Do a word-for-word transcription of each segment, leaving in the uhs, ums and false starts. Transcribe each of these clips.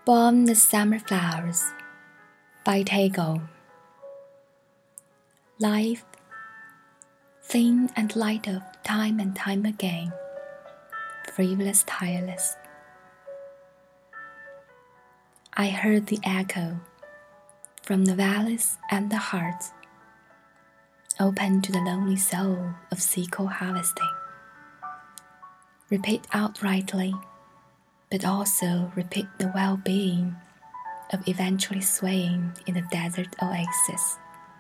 Born as Summer Flowers by Tago. Life, thin and light of time and time again, frivolous, tireless. I heard the echo from the valleys and the hearts, open to the lonely soul of sickle harvesting. Repeat outrightly, but also repeat the well-being of eventually swaying in the desert oasis.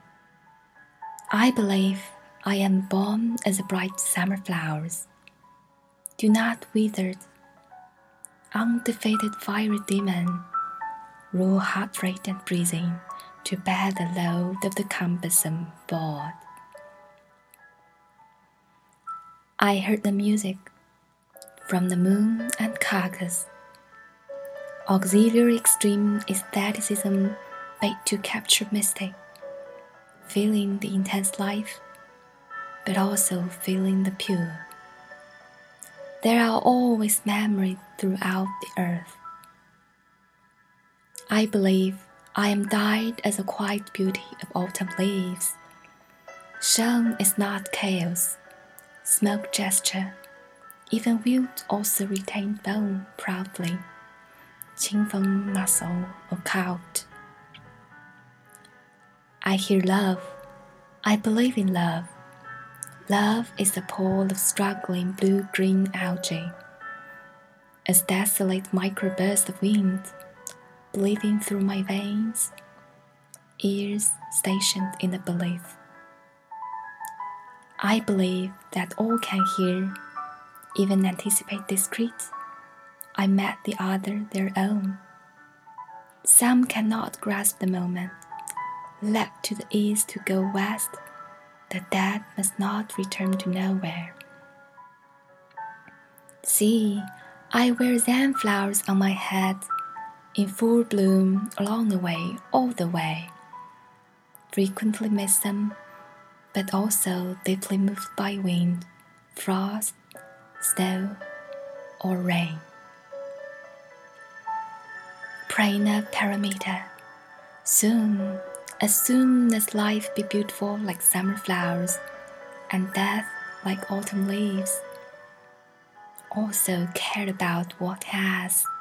I believe I am born as a bright summer flowers. Do not withered, undefeated fiery demon, rule heart rate and breathing to bear the load of the cumbersome board. I heard the music from the moon and carcass, auxiliary extreme aestheticism bait to capture mystic, feeling the intense life, but also feeling the pure. There are always memories throughout the earth. I believe I am dyed as a quiet beauty of autumn leaves. Shown is not chaos, smoke gesture, even wilt also retained bone proudly, 清风 muscle or cult. I hear love, I believe in love. Love is the pool of struggling blue-green algae, as desolate microburst of wind, bleeding through my veins, ears stationed in the belief. I believe that all can hear, even anticipate discreet. I met the other their own. Some cannot grasp the moment, leapt to the east to go west. The dead must not return to nowhere. See, I wear zen flowers on my head, in full bloom along the way, all the way. Frequently miss them, but also deeply moved by wind, frost, snow, or rain. Prana Paramita. Soon, as soon as life be beautiful like summer flowers, and death like autumn leaves, also care about what has,